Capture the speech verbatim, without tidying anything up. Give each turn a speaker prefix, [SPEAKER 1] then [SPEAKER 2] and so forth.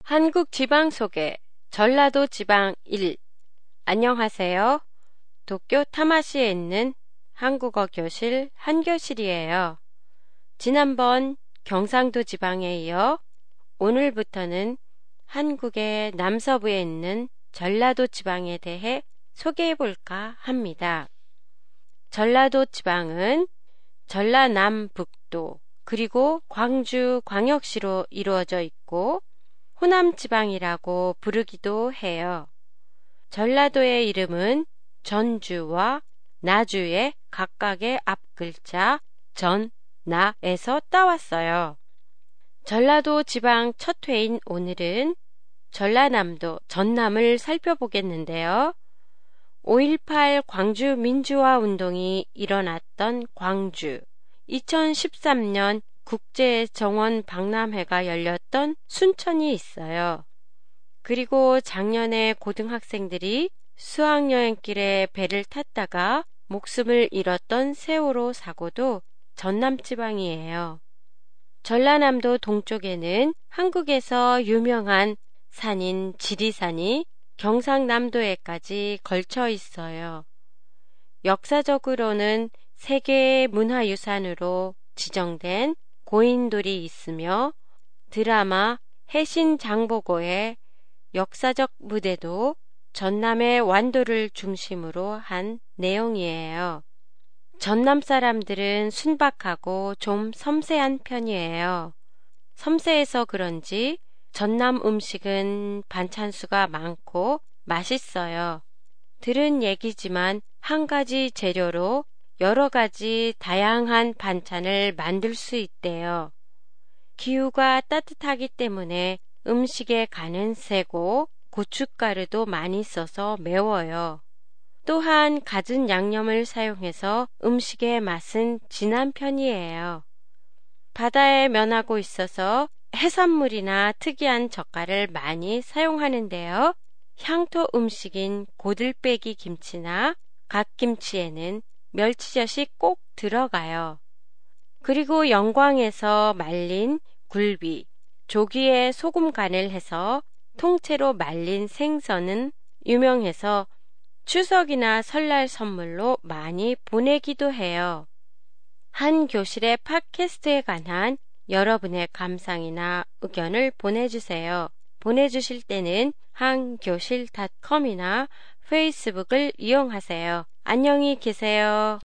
[SPEAKER 1] 한국 지방 소개, 전라도 지방 일. 안녕하세요. 도쿄 타마시에 있는 한국어 교실 한교실이에요. 지난번 경상도 지방에 이어 오늘부터는 한국의 남서부에 있는 전라도 지방에 대해 소개해 볼까 합니다. 전라도 지방은 전라남북도 그리고 광주 광역시로 이루어져 있고 호남지방이라고 부르기도 해요. 전라도의 이름은 전주와 나주의 각각의 앞글자 전, 나에서 따왔어요. 전라도 지방 첫 회인 오늘은 전라남도 전남을 살펴보겠는데요. 오일팔 광주 민주화 운동이 일어났던 광주, 이천십삼 년 국제정원 박람회가 열렸던 순천이 있어요. 그리고 작년에 고등학생들이 수학여행길에 배를 탔다가 목숨을 잃었던 세월호 사고도 전남지방이에요. 전라남도 동쪽에는 한국에서 유명한 산인 지리산이 경상남도에까지 걸쳐 있어요. 역사적으로는 세계 문화유산으로 지정된 고인돌이 있으며 드라마 해신장보고의 역사적 무대도 전남의 완도를 중심으로 한 내용이에요. 전남 사람들은 순박하고 좀 섬세한 편이에요. 섬세해서 그런지 전남 음식은 반찬수가 많고 맛있어요. 들은 얘기지만 한 가지 재료로 여러 가지 다양한 반찬을 만들 수 있대요. 기후가 따뜻하기 때문에 음식의 간은 세고 고춧가루도 많이 써서 매워요. 또한 갖은 양념을 사용해서 음식의 맛은 진한 편이에요. 바다에 면하고 있어서 해산물이나 특이한 젓갈을 많이 사용하는데요. 향토 음식인 고들빼기 김치나 갓김치에는 멸치젓이 꼭 들어가요. 그리고 영광에서 말린 굴비, 조기에 소금 간을 해서 통째로 말린 생선은 유명해서 추석이나 설날 선물로 많이 보내기도 해요. 한 교실의 팟캐스트에 관한 여러분의 감상이나 의견을 보내주세요. 보내주실 때는 한교실 닷컴이나 페이스북을 이용하세요. 안녕히 계세요.